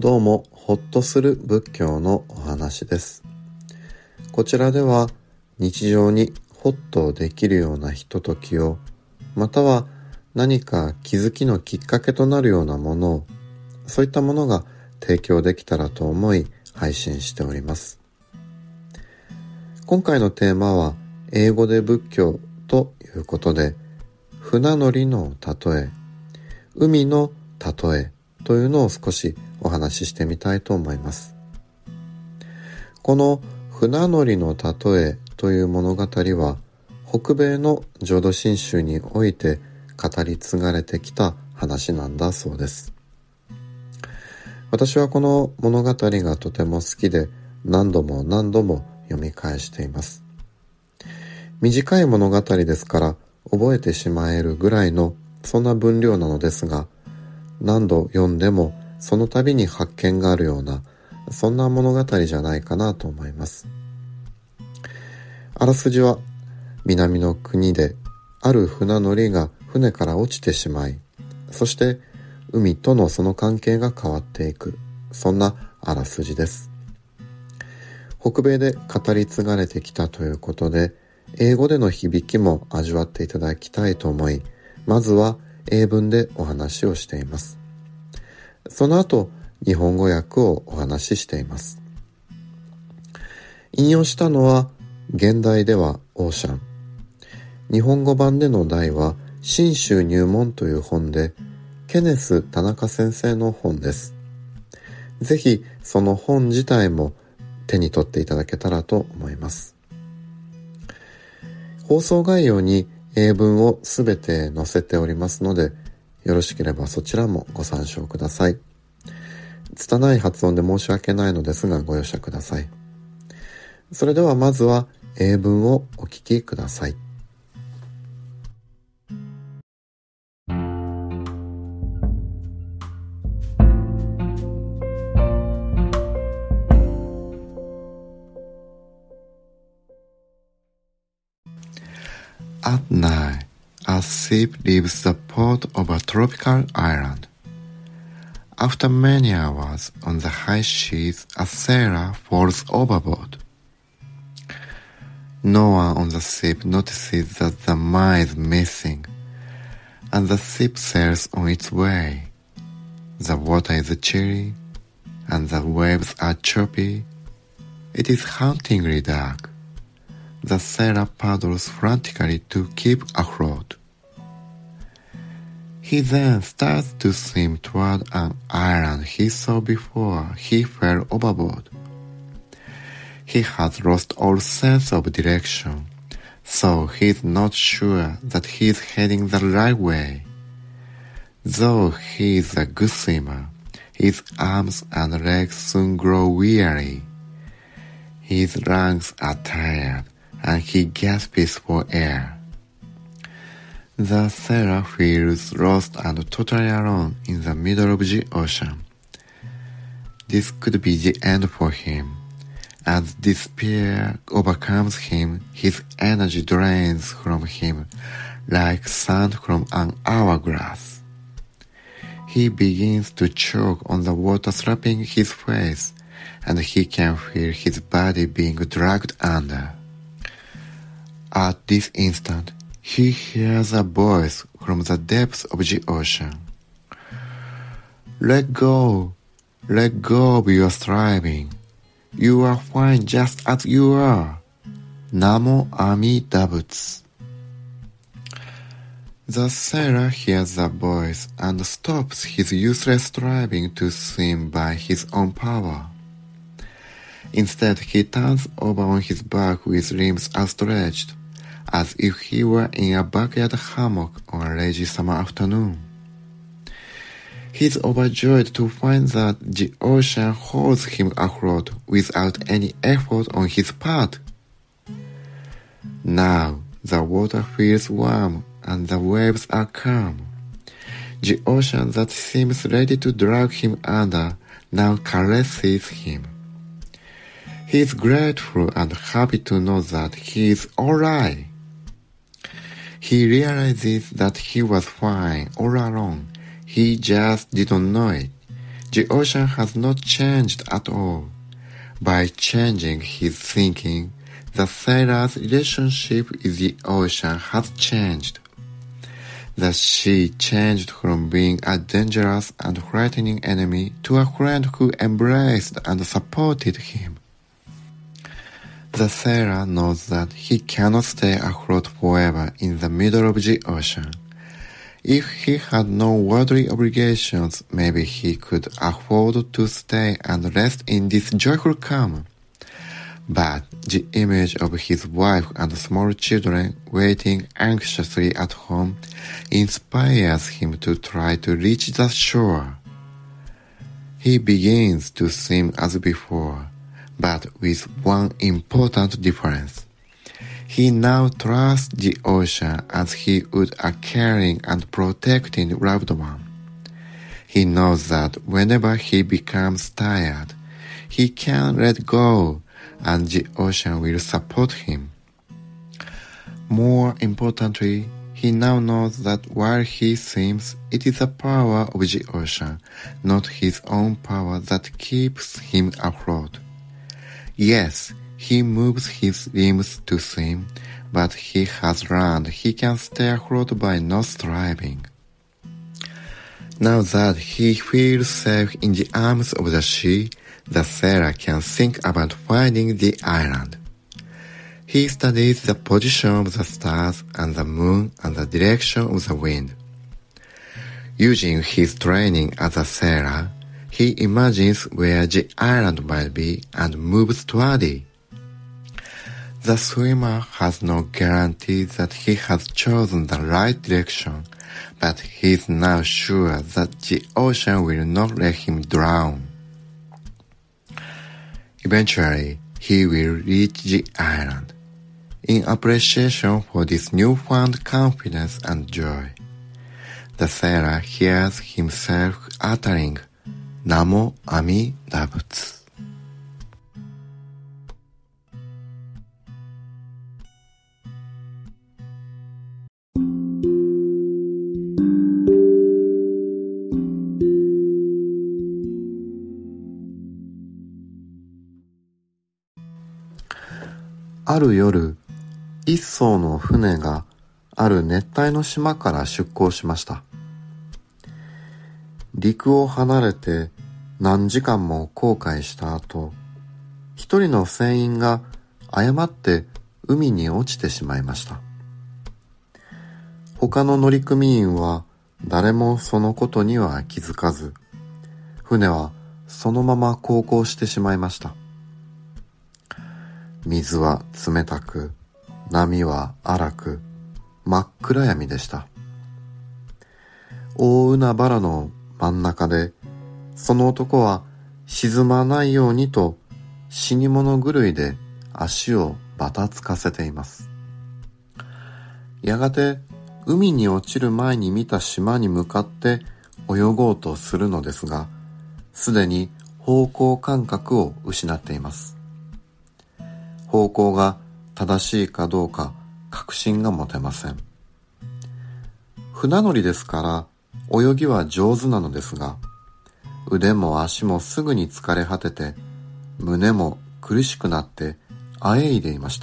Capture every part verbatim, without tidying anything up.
どうも、ほっとする仏教のお話です。こちらでは日常にほっとできるようなひとときを、または何か気づきのきっかけとなるようなものを、そういったものが提供できたらと思い配信しております。今回のテーマは英語で仏教ということで、船乗りの例え、海の例えというのを少しお話ししてみたいと思います。この船乗りの例えという物語は、北米の浄土真宗において語り継がれてきた話なんだそうです。私はこの物語がとても好きで、何度も何度も読み返しています。短い物語ですから覚えてしまえるぐらいのそんな分量なのですが、何度読んでもその度に発見があるような、そんな物語じゃないかなと思います。あらすじは、南の国である船乗りが船から落ちてしまい、そして海とのその関係が変わっていく、そんなあらすじです。北米で語り継がれてきたということで、英語での響きも味わっていただきたいと思い、まずは英文でお話をしています。その後、日本語訳をお話ししています。引用したのは、現代ではオーシャン。日本語版での題は、新宗入門という本で、ケネス・田中先生の本です。ぜひ、その本自体も手に取っていただけたらと思います。放送概要に英文をすべて載せておりますので、よろしければそちらもご参照ください。拙い発音で申し訳ないのですがご容赦ください。それではまずは英文をお聞きください。 At night, a ship leaves the port of a tropical island. After many hours on the high seas, a sailor falls overboard. No one on the ship notices that the man is missing, and the ship sails on its way. The water is chilly, and the waves are choppy. It is hauntingly dark. The sailor paddles frantically to keep afloat. He then starts to swim toward an island he saw before he fell overboard. He has lost all sense of direction, so he is not sure that he is heading the right way. Though he is a good swimmer, his arms and legs soon grow weary. His lungs are tired, and he gasps for air. The sailor feels lost and totally alone in the middle of the ocean. This could be the end for him. As despair overcomes him, his energy drains from him like sand from an hourglass. He begins to choke on the water slapping his face, and he can feel his body being dragged under. At this instant, he hears a voice from the depths of the ocean. Let go, let go of your striving. You are fine just as you are. Namo Amida Butsu. The sailor hears the voice and stops his useless striving to swim by his own power. Instead, he turns over on his back with limbs outstretched, as if he were in a backyard hammock on a lazy summer afternoon. He is overjoyed to find that the ocean holds him afloat without any effort on his part. Now the water feels warm and the waves are calm. The ocean that seems ready to drag him under now caresses him. He is grateful and happy to know that he is all right. He realizes that he was fine all along. He just didn't know it. The ocean has not changed at all. By changing his thinking, the sailor's relationship with the ocean has changed. The sea changed from being a dangerous and frightening enemy to a friend who embraced and supported him. The sailor knows that he cannot stay afloat forever in the middle of the ocean. If he had no worldly obligations, maybe he could afford to stay and rest in this joyful calm. But the image of his wife and small children waiting anxiously at home inspires him to try to reach the shore. He begins to swim as before, but with one important difference. He now trusts the ocean as he would a caring and protecting loved one. He knows that whenever he becomes tired, he can let go and the ocean will support him. More importantly, he now knows that while he swims, it is the power of the ocean, not his own power, that keeps him afloat. Yes, he moves his limbs to swim, but he has learned he can stay afloat by not striving. Now that he feels safe in the arms of the sea, the sailor can think about finding the island. He studies the position of the stars and the moon and the direction of the wind. Using his training as a sailor, he imagines where the island might be and moves toward it. The swimmer has no guarantee that he has chosen the right direction, but he is now sure that the ocean will not let him drown. Eventually, he will reach the island. In appreciation for this newfound confidence and joy, the sailor hears himself uttering Namo Amida Butsu. ある夜、一艘の船がある熱帯の島から出港しました。陸を離れて何時間も航海した後、一人の船員が誤って海に落ちてしまいました。他の乗組員は誰もそのことには気づかず、船はそのまま航行してしまいました。水は冷たく、波は荒く、真っ暗闇でした。大海原の真ん中で、その男は沈まないようにと死に物狂いで足をばたつかせています。やがて海に落ちる前に見た島に向かって泳ごうとするのですが、すでに方向感覚を失っています。方向が正しいかどうか確信が持てません。船乗りですから泳ぎは上手なのですが、腕も足もすぐに疲れ果てて、胸も苦しくなってあえいでいました。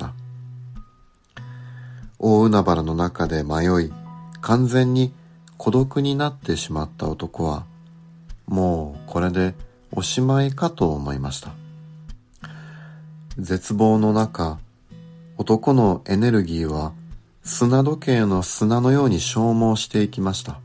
大海原の中で迷い、完全に孤独になってしまった男は、もうこれでおしまいかと思いました。絶望の中、男のエネルギーは砂時計の砂のように消耗していきました。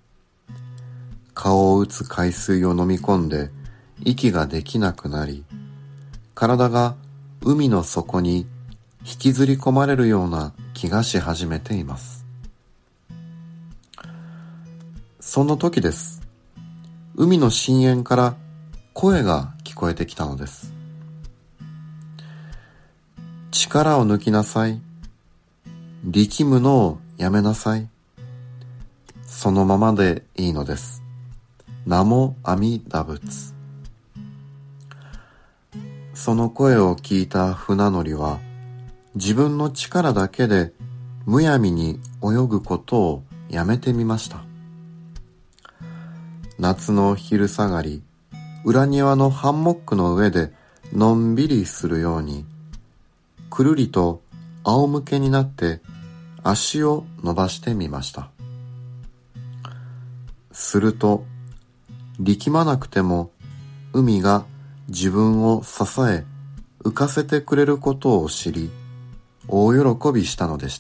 顔を打つ海水を飲み込んで息ができなくなり、体が海の底に引きずり込まれるような気がし始めています。その時です。海の深淵から声が聞こえてきたのです。力を抜きなさい。力むのをやめなさい。そのままでいいのです。ナモアミダ仏。その声を聞いた船乗りは、自分の力だけでむやみに泳ぐことをやめてみました。夏の昼下がり、 裏庭のハンモックの上でのんびりするように、くるりと仰向けになって足を伸ばしてみました。すると、力まなくても海が自分を支え浮かせてくれることを知り、大喜びしたのでした。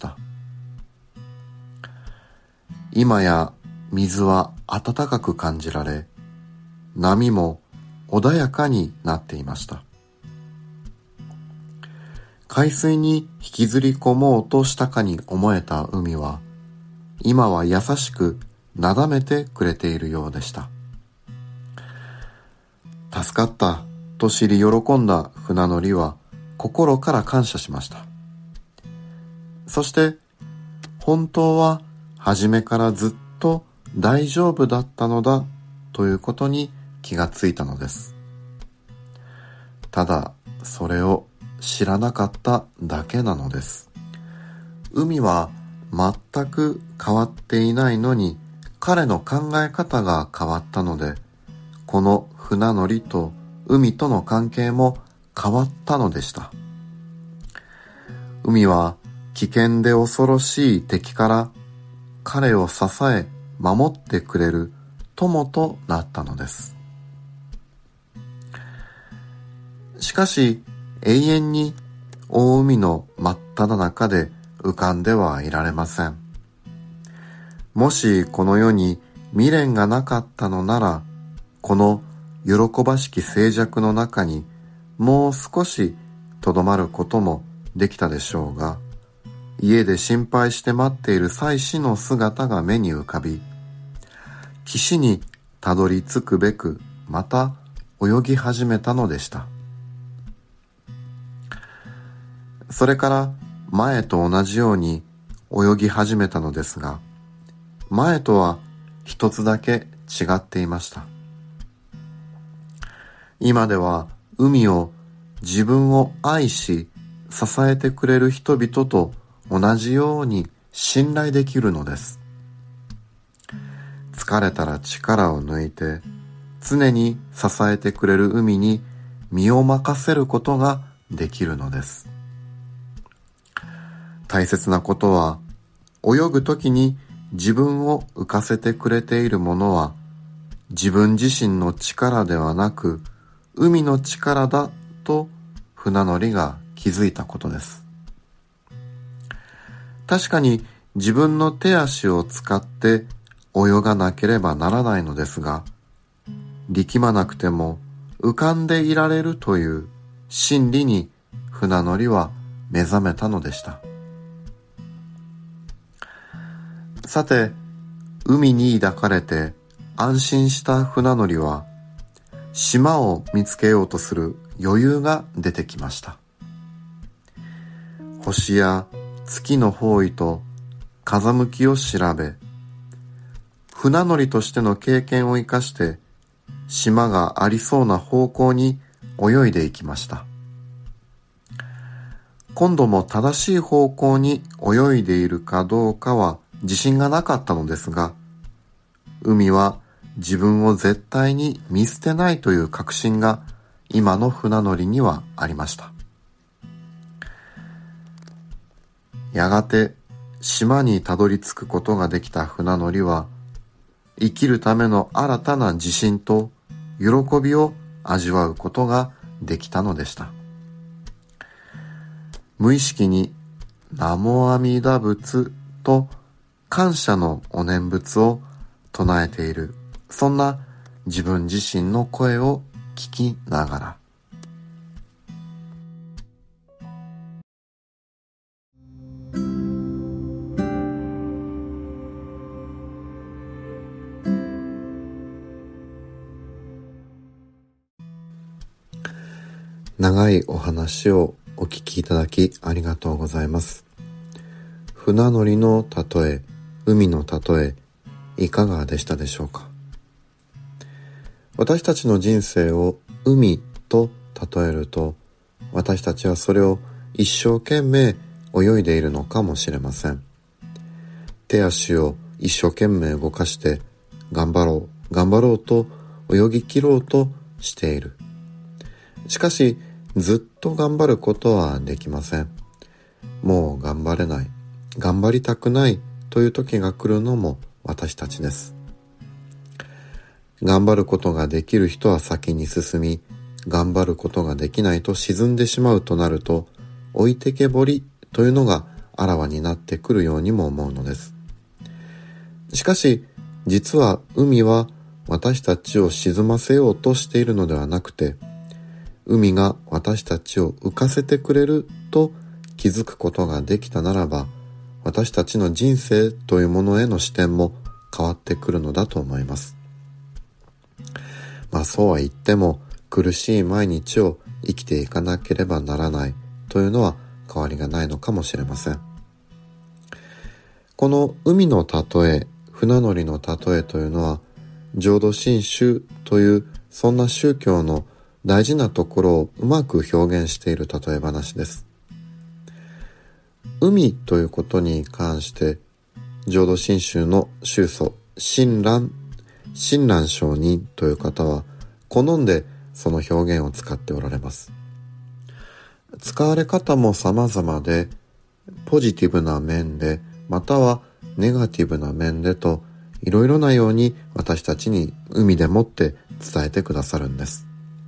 今や水は暖かく感じられ、波も穏やかになっていました。海水に引きずり込もうとしたかに思えた海は、今は優しくなだめてくれているようでした。助かったと知り喜んだ船乗りは心から感謝しました。そして、本当は初めからずっと大丈夫だったのだということに気がついたのです。ただ、それを知らなかっただけなのです。海は全く変わっていないのに、彼の考え方が変わったので、この船乗りと海との関係も変わったのでした。海は危険で恐ろしい敵から彼を支え守ってくれる友となったのです。しかし永遠に大海の真っ只中で浮かんではいられません。もしこの世に未練がなかったのなら、この喜ばしき静寂の中にもう少しとどまることもできたでしょうが、家で心配して待っている妻子の姿が目に浮かび、岸にたどり着くべくまた泳ぎ始めたのでした。それから前と同じように泳ぎ始めたのですが、前とは一つだけ違っていました。今では海を自分を愛し支えてくれる人々と同じように信頼できるのです。疲れたら力を抜いて常に支えてくれる海に身を任せることができるのです。大切なことは、泳ぐときに自分を浮かせてくれているものは自分自身の力ではなく海の力だと船乗りが気づいたことです。確かに自分の手足を使って泳がなければならないのですが、力まなくても浮かんでいられるという真理に船乗りは目覚めたのでした。さて、海に抱かれて安心した船乗りは、島を見つけようとする余裕が出てきました。星や月の方位と風向きを調べ、船乗りとしての経験を生かして島がありそうな方向に泳いでいきました。今度も正しい方向に泳いでいるかどうかは自信がなかったのですが、海は自分を絶対に見捨てないという確信が今の船乗りにはありました。やがて島にたどり着くことができた船乗りは、生きるための新たな自信と喜びを味わうことができたのでした。無意識にナモ阿弥陀仏と感謝のお念仏を唱えている、そんな自分自身の声を聞きながら、長いお話をお聞きいただきありがとうございます。船乗りの例え、海の例え、いかがでしたでしょうか。私たちの人生を海と例えると、私たちはそれを一生懸命泳いでいるのかもしれません。手足を一生懸命動かして、頑張ろう、頑張ろうと泳ぎ切ろうとしている。しかし、ずっと頑張ることはできません。もう頑張れない、頑張りたくないという時が来るのも私たちです。頑張ることができる人は先に進み、頑張ることができないと沈んでしまうとなると、置いてけぼりというのがあらわになってくるようにも思うのです。しかし、実は海は私たちを沈ませようとしているのではなくて、海が私たちを浮かせてくれると気づくことができたならば、私たちの人生というものへの視点も変わってくるのだと思います。まあそうは言っても、苦しい毎日を生きていかなければならないというのは変わりがないのかもしれません。この海の例え、船乗りの例えというのは、浄土真宗というそんな宗教の大事なところをうまく表現している例え話です。海ということに関して、浄土真宗の宗祖親鸞親鸞上人という方は好んでその表現を使っておられます。使われ方も様々で、ポジティブな面でまたはネガティブな面でと、いろいろなように私たちに海でもって伝えてくださるんです。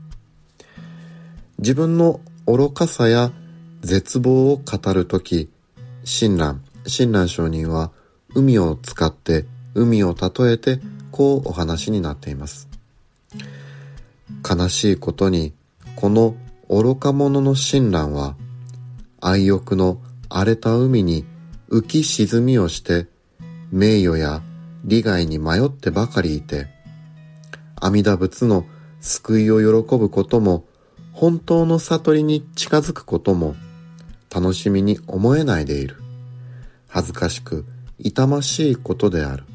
自分の愚かさや絶望を語るとき、親鸞親鸞上人は海を使って海を例えてこうお話になっています。悲しいことに、この愚か者の親鸞は愛欲の荒れた海に浮き沈みをして名誉や利害に迷ってばかりいて、阿弥陀仏の救いを喜ぶことも本当の悟りに近づくことも楽しみに思えないでいる。恥ずかしく痛ましいことである。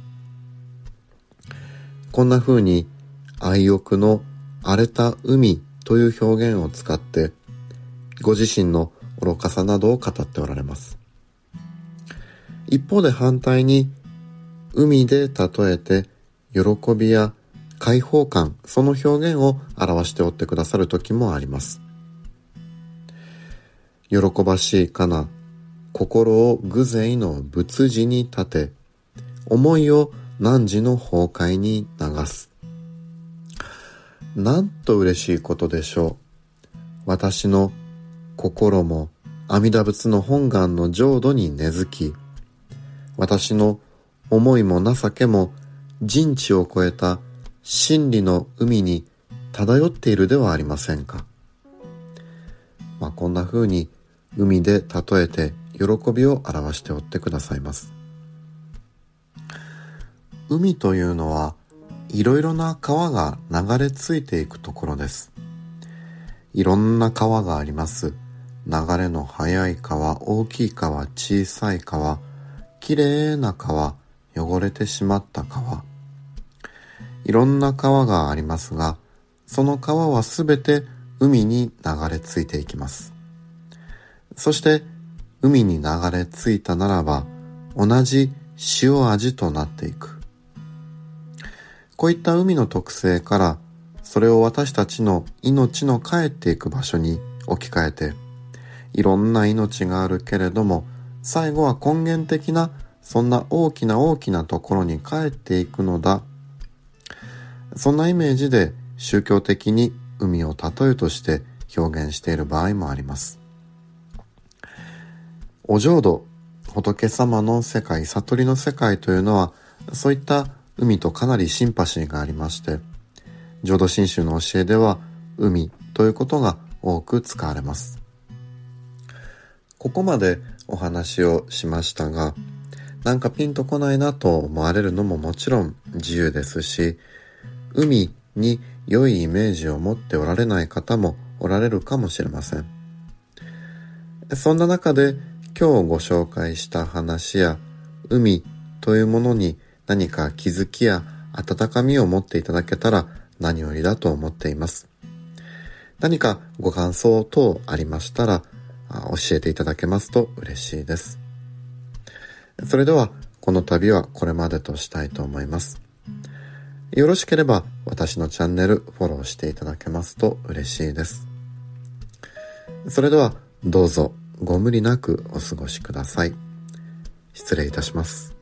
こんな風に愛欲の荒れた海という表現を使ってご自身の愚かさなどを語っておられます。一方で反対に海で例えて喜びや解放感、その表現を表しておってくださる時もあります。喜ばしいかな、心を偶然の仏事に立て、思いを汝の崩壊に流す。なんと嬉しいことでしょう。私の心も阿弥陀仏の本願の浄土に根付き、私の思いも情けも人知を超えた真理の海に漂っているではありませんか。まあ、こんな風に海で例えて喜びを表しておってくださいます。海というのはいろいろな川が流れ着いていくところです。いろんな川があります。流れの速い川、大きい川、小さい川、きれいな川、汚れてしまった川。いろんな川がありますが、その川はすべて海に流れ着いていきます。そして海に流れ着いたならば、同じ塩味となっていく。こういった海の特性から、それを私たちの命の帰っていく場所に置き換えて、いろんな命があるけれども、最後は根源的なそんな大きな大きなところに帰っていくのだ。そんなイメージで宗教的に海を例えとして表現している場合もあります。お浄土、仏様の世界、悟りの世界というのは、そういった海とかなりシンパシーがありまして、浄土真宗の教えでは海ということが多く使われます。ここまでお話をしましたが、なんかピンとこないなと思われるのももちろん自由ですし、海に良いイメージを持っておられない方もおられるかもしれません。そんな中で今日ご紹介した話や海というものに何か気づきや温かみを持っていただけたら何よりだと思っています。何かご感想等ありましたら教えていただけますと嬉しいです。それではこの度はこれまでとしたいと思います。 よろしければ私のチャンネルフォローしていただけますと嬉しいです。それではどうぞご無理なくお過ごしください。失礼いたします。